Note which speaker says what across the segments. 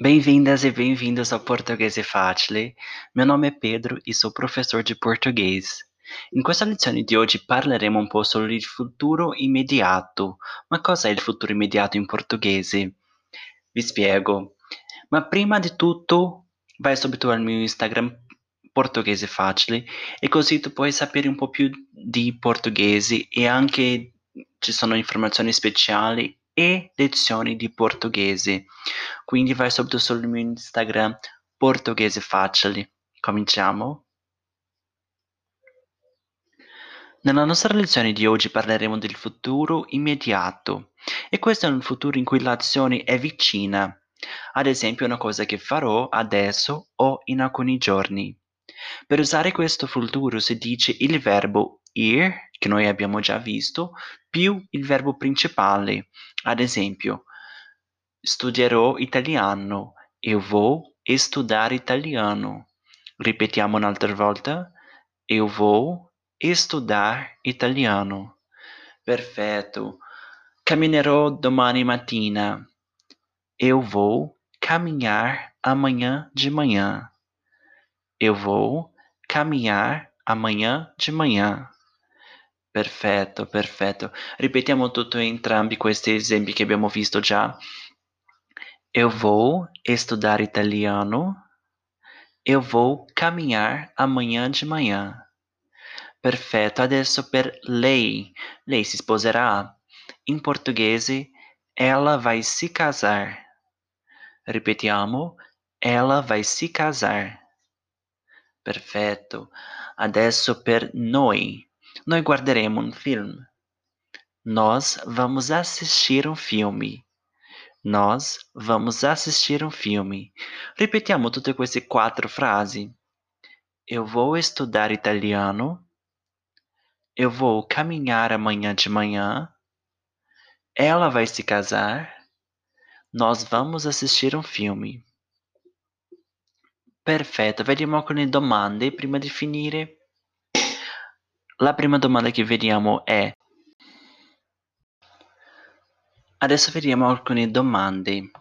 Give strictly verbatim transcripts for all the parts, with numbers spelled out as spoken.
Speaker 1: Bem-vindas e bem-vindos ao Portoghese Facile. Meu nome é Pedro e sou professor de português. In questa lezione di oggi parleremo un po' sul futuro immediato. Ma cosa è il futuro immediato in portoghese? Vi spiego. Ma prima di tutto, vai subito al mio Instagram Portoghese Facile e così tu puoi sapere un po' più di portoghese e anche ci sono informazioni speciali e lezioni di portoghese. Quindi vai subito sul mio Instagram Portoghese Facile. Cominciamo? Nella nostra lezione di oggi parleremo del futuro immediato e questo è un futuro in cui l'azione è vicina, ad esempio una cosa che farò adesso o in alcuni giorni. Per usare questo futuro si dice il verbo ir, che noi abbiamo già visto, più il verbo principale, ad esempio studierò italiano, eu vou estudar italiano. Ripetiamo un'altra volta. Eu vou estudar italiano. Perfetto. Camminerò domani mattina. Eu vou caminhar amanhã de manhã. Eu vou caminhar amanhã de manhã. Perfetto, perfetto. Ripetiamo tutto entrambi questi esempi che abbiamo visto già. Eu vou estudar italiano. Eu vou caminhar amanhã de manhã. Perfetto, adesso per lei. Lei si sposerà. In portoghese, ela vai se casar. Ripetiamo, ela vai se casar. Perfetto. Adesso per noi. Noi guarderemo un film. Nós vamos assistir um filme. Nós vamos assistir um filme. Ripetiamo tutte queste quattro frasi. Eu vou estudar italiano. Eu vou caminhar amanhã de manhã. Ela vai se casar. Nós vamos assistir um filme. Perfetto, vediamo alcune domande prima di finire. La prima domanda che vediamo è: adesso vediamo alcune domande.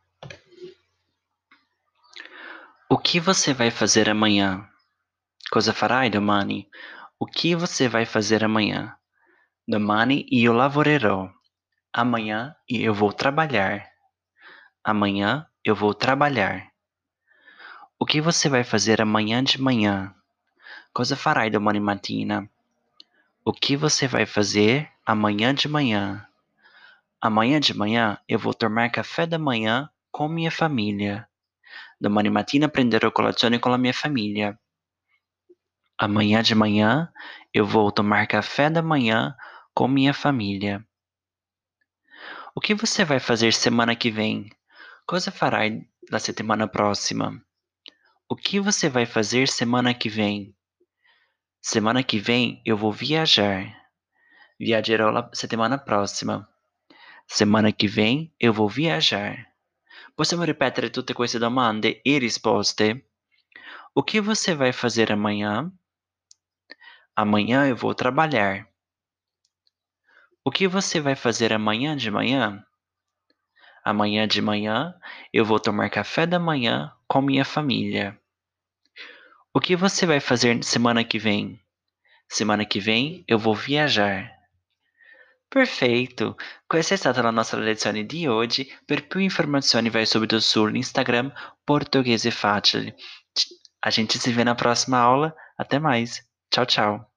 Speaker 1: O que você vai fazer amanhã? Cosa farai domani? O que você vai fazer amanhã? Domani io lavorerò. Amanhã eu vou trabalhar. Amanhã eu vou trabalhar. O que você vai fazer amanhã de manhã? Cosa farai domani mattina? O que você vai fazer amanhã de manhã? Amanhã de manhã eu vou tomar café da manhã com minha família. Domani mattina prenderò colazione con la mia famiglia. Amanhã de manhã eu vou tomar café da manhã com minha família. O que você vai fazer semana que vem? Cosa farai la settimana prossima? O que você vai fazer semana que vem? Semana que vem eu vou viajar. Viagerò la settimana prossima. Semana que vem eu vou viajar. Possiamo ripetere tutte queste domande e risposte? O que você vai fazer amanhã? Amanhã eu vou trabalhar. O que você vai fazer amanhã de manhã? Amanhã de manhã eu vou tomar café da manhã com minha família. O que você vai fazer semana que vem? Semana que vem eu vou viajar. Perfeito! Questa è stata la nostra lezione di oggi. Per più informazioni vai subito sull'Instagram Portoghese Facile. A gente se vê na próxima aula. Até mais. Tchau, tchau.